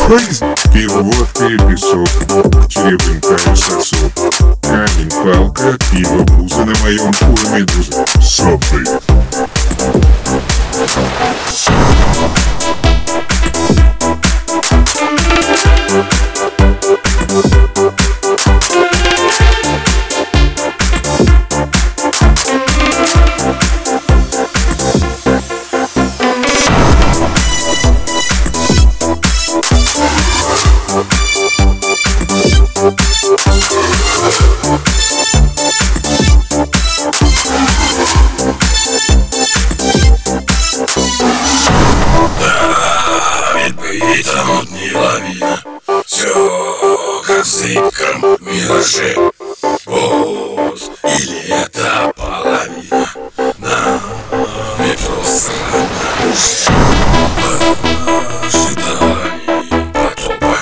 crazy. Пиво, песок, черепенькая сосок. Камень, палка, пиво, буза, на моем уровне медуза. Сопли. Там не лавина, все как в зыбком мираже. Вот, или это половина, на метро срана уже. В ожидании потопа,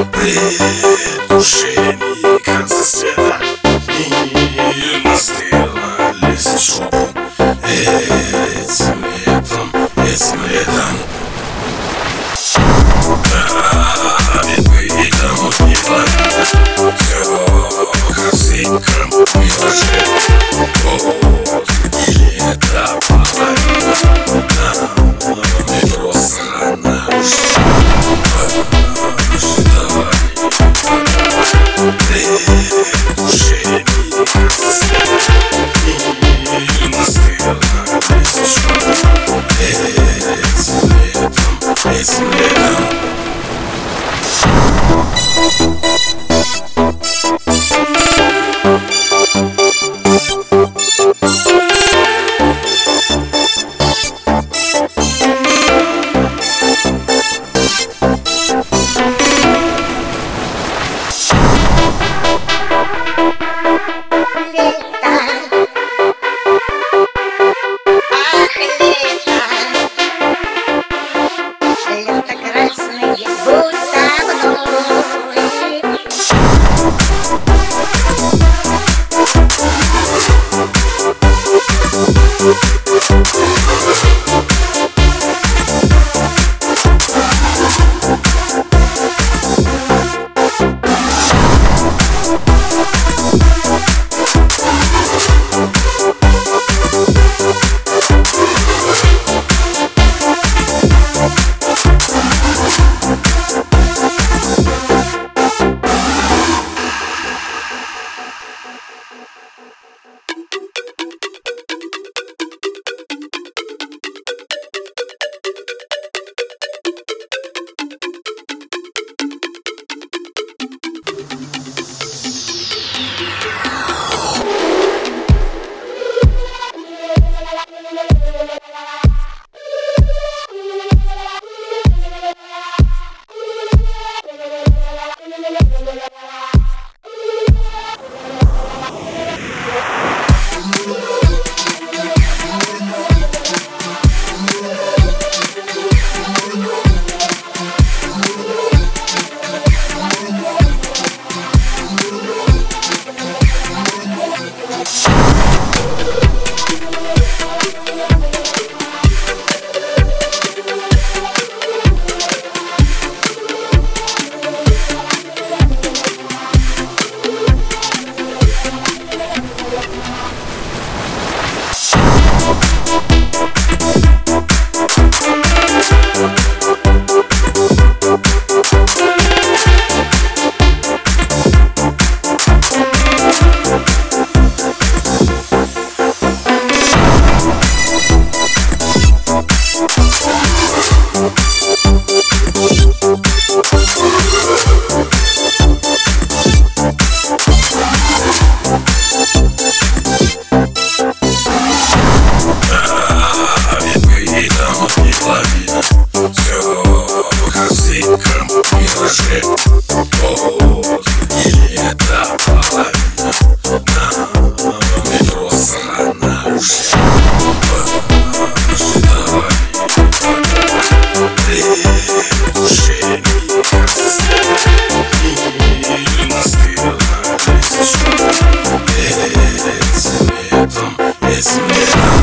предвкушении конца света. Мир настыла, лезет в жопу этим летом, этим летом. Ведь там не ловина, все как в зыбком мираже. Вот, или это половина, на метро срана уже. В ожидании потопа, предвкушении конца света. Мир настыла, лезет в жопу этим летом. мираже. Вот, или это половина, на метро срана уже. Предвкушение конца света. Мир настыл, налетишь этим летом, этим летом.